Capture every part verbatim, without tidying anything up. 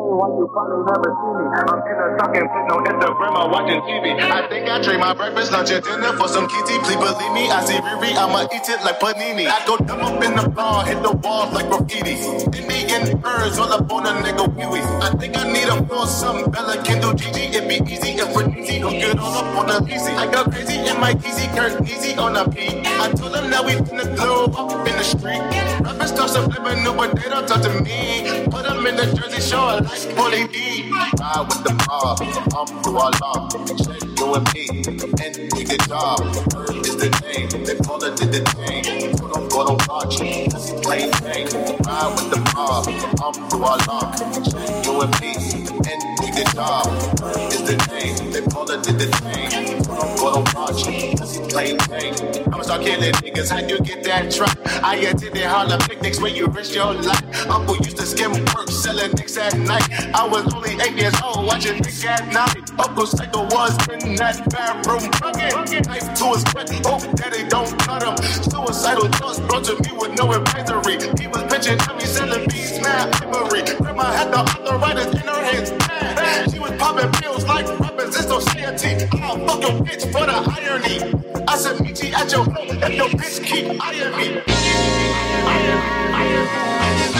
why you probably never see me. I'm in a talking pit, no Instagram, I'm watching T V. I think I trade my breakfast, lunch, and dinner for some kitty. Please believe me, I see Riri, I'ma eat it like panini. I go dumb up in the bar, hit the wall like graffiti. Indian birds all up on a nigga wee-wee. I think I need a floor, something Bella can do G G. It be easy if we're easy, don't get all up on the easy. I go crazy in my easy, Kurt easy on a beat. I told them that we finna glow up in the street. Rappers start some flipping new, but they don't talk to me. Put them in the Jersey Shore like Paulie D. Ride with the mob, I'm through our law. Check you and me, and we get job. Herb is the name, they call it the thing. So don't go to watch, that's plain thing. Ride with the mob, I'm through our law. Check you and me, and we get job. Herb is the name, they call it the thing. So don't go to watch, that's plain thing. I'ma start killing niggas, how you get that truck? I attended Harlem picnics where you risk your life. Uncle used to skim work, selling nicks at night. I was only eight years old, watching Nick at night. Uncle Psycho was in that bathroom bucket. Knife to his foot, hope daddy don't cut him. Suicidal thoughts brought to me with no advisory. He was pitching at me, selling beats, mad memory. Grandma had the arthritis in her hands, mad. She was popping pills like rappers in society. I'll fuck your bitch for the irony. I said, meet you at your home if your bitch keep eyeing me. Iron, iron, iron.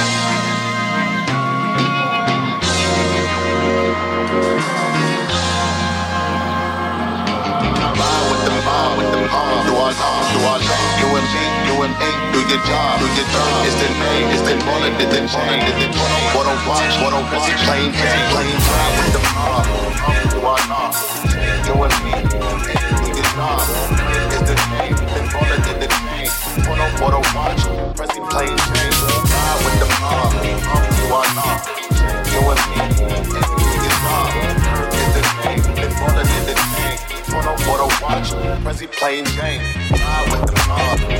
Do our law, do our law. You and me, you and me, do your job, do your job. It's the name, it's the bullet, it's the chain, it's the chain. What don't watch, what don't watch, plain Jane, plain Jane with the mob. Do our law. You and me, do your job. It's the name, it's the bullet, it's the chain. What don't, what don't watch, pressy plain Jane. Ride with the mob. Do our law. You and me, do your job. It's the name, it's the bullet, it's the chain. What don't, what don't watch, pressy plain Jane. Ride with the mob.